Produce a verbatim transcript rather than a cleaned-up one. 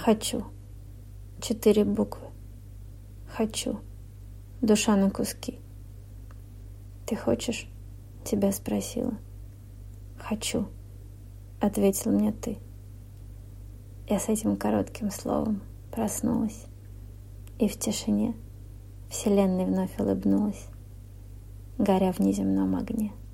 Хочу. Четыре буквы. Хочу. Душа на куски. Ты хочешь? Тебя спросила. Хочу. Ответил мне ты. Я с этим коротким словом проснулась. И в тишине Вселенной вновь улыбнулась, горя в неземном огне.